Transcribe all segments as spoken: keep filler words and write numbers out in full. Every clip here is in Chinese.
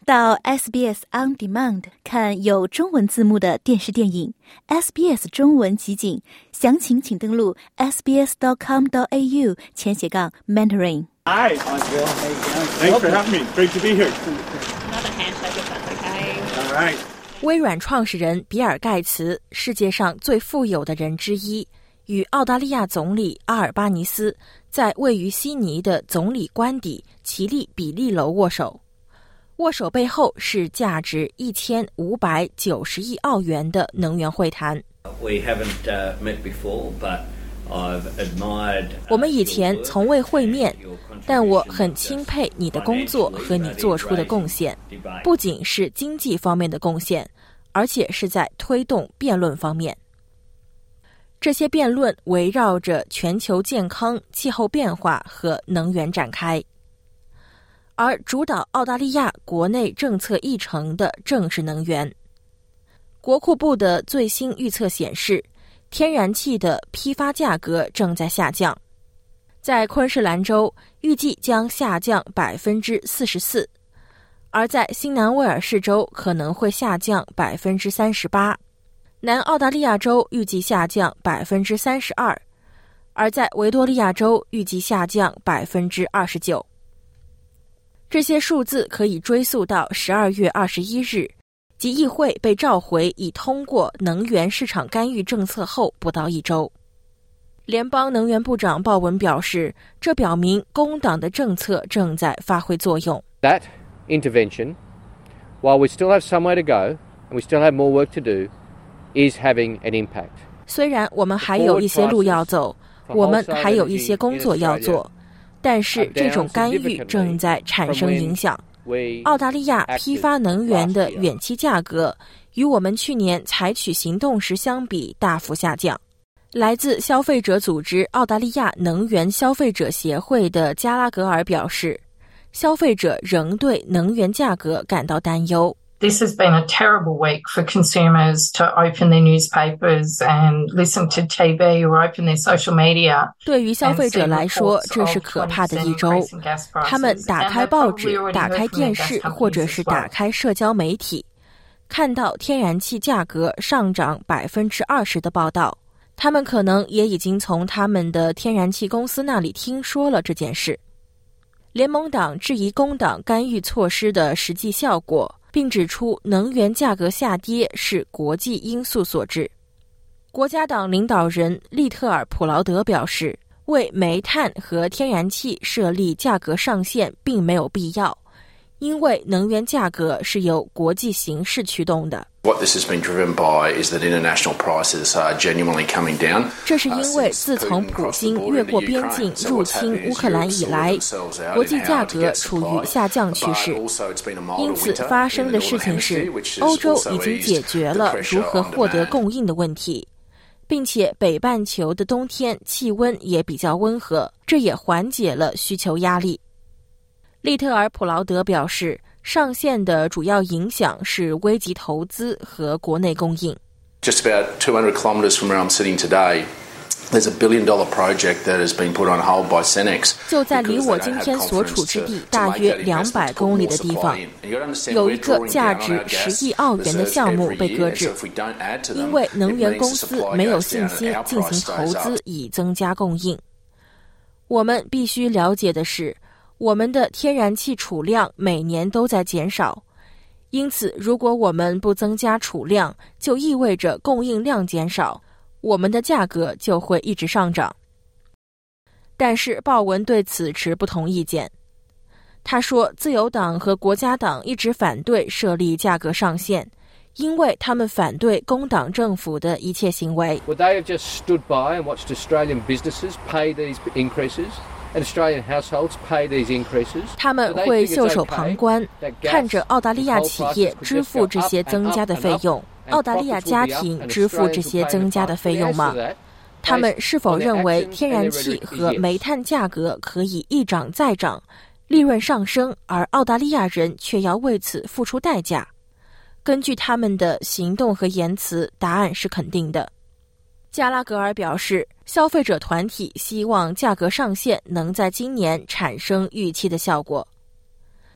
到 S B S On Demand 看有中文字幕的电视电影 S B S 中文集锦，详情请登录 s b s dot com dot a u 前斜杠 mentoring。 Hi, Bill. Thanks for having me. Great to be here. Another handshake if that's okay. All right. 微软创始人比尔·盖茨，世界上最富有的人之一，与澳大利亚总理阿尔巴尼斯在位于悉尼的总理官邸奇利比利楼握手。握手背后是价值一千五百九十亿澳元的能源会谈。 We haven't, uh, met before, but I've admired, uh, 我们以前从未会面，但我很钦佩你的工作和你做出的贡献，不仅是经济方面的贡献，而且是在推动辩论方面。这些辩论围绕着全球健康、气候变化和能源展开。而主导澳大利亚国内政策议程的正是能源。国库部的最新预测显示，天然气的批发价格正在下降，在昆士兰州预计将下降 百分之四十四， 而在新南威尔士州可能会下降 百分之三十八， 南澳大利亚州预计下降 百分之三十二， 而在维多利亚州预计下降 百分之二十九。这些数字可以追溯到十二月二十一日，即议会被召回以通过能源市场干预政策后不到一周。联邦能源部长鲍文表示，这表明工党的政策正在发挥作用。 That intervention, while we still have some way to go and we still have more work to do, is having an impact. 虽然我们还有一些路要走，我们还有一些工作要做，但是这种干预正在产生影响。澳大利亚批发能源的远期价格与我们去年采取行动时相比大幅下降。来自消费者组织澳大利亚能源消费者协会的加拉格尔表示，消费者仍对能源价格感到担忧。 This has been a terrible week for consumers to open their newspapers and listen to T V or open their social media. 对于消费者来说，这是可怕的一周。他们打开报纸、打开电视，或者是打开社交媒体，看到天然气价格上涨 百分之二十 的报道。他们可能也已经从他们的天然气公司那里听说了这件事。联盟党质疑工党干预措施的实际效果，并指出能源价格下跌是国际因素所致。国家党领导人利特尔·普劳德表示，为煤炭和天然气设立价格上限并没有必要，因为能源价格是由国际形势驱动的。 What this has been driven by is that international prices are genuinely coming down. 这是因为自从普京越过边境入侵乌克兰以来，国际价格处于下降趋势。因此发生的事情是，欧洲已经解决了如何获得供应的问题，并且北半球的冬天气温也比较温和，这也缓解了需求压力。利特尔·普劳德表示，上限的主要影响是危及投资和国内供应。 Just about two hundred kilometres from where I'm sitting today, there's a billion dollar project that has been put on hold by Cenex. 就在离我今天所处之地大约两百公里的地方，有一个价值十亿澳元的项目被搁置，因为能源公司没有信心进行投资以增加供应。我们必须了解的是，我们的天然气储量每年都在减少，因此如果我们不增加储量，就意味着供应量减少，我们的价格就会一直上涨。但是鲍文对此持不同意见。他说，自由党和国家党一直反对设立价格上限，因为他们反对工党政府的一切行为。 Would they have just stood by and watched Australian businesses pay these increases?And Australian households pay these increases. 他们会袖手旁观，看着澳大利亚企业支付这些增加的费用，澳大利亚家庭支付这些增加的费用吗？他们是否认为天然气和煤炭价格可以一涨再涨，利润上升，而澳大利亚人却要为此付出代价？根据他们的行动和言辞，答案是肯定的。加拉格尔表示，消费者团体希望价格上限能在今年产生预期的效果。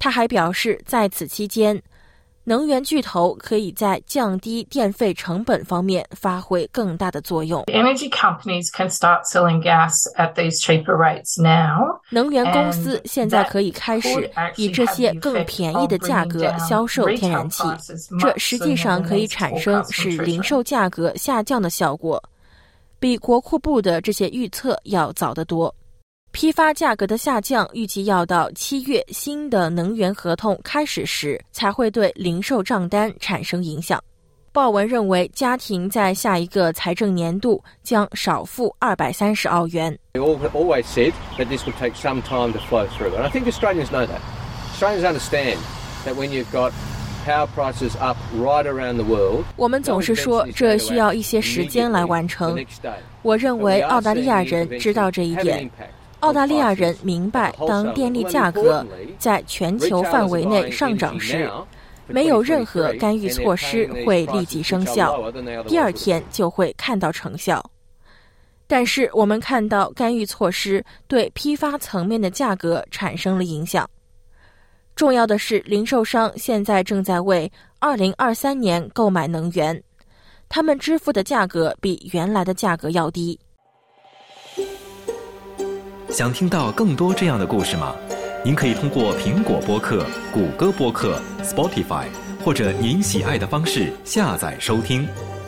他还表示，在此期间，能源巨头可以在降低电费成本方面发挥更大的作用。 Energy companies can start selling gas at these cheaper rates now. 能源公司现在可以开始以这些更便宜的价格销售天然气，这实际上可以产生使零售价格下降的效果，比国库部的这些预测要早得多。批发价格的下降预计要到七月新的能源合同开始时才会对零售账单产生影响。报文认为，家庭在下一个财政年度将少付二百三十澳元。 We always said that this would take some time to flow through, and I think Australians know that. Australians understand that when you've got power prices up right around the world. 我们总是说这需要一些时间来完成。我认为澳大利亚人知道这一点。澳大利亚人明白，当电力价格在全球范围内上涨时，没有任何干预措施会立即生效，第二天就会看到成效。但是我们看到干预措施对批发层面的价格产生了影响。重要的是，零售商现在正在为二零二三年购买能源，他们支付的价格比原来的价格要低。 想听到更多这样的故事吗？您可以通过苹果播客、谷歌播客、Spotify 或者您喜爱的方式下载收听。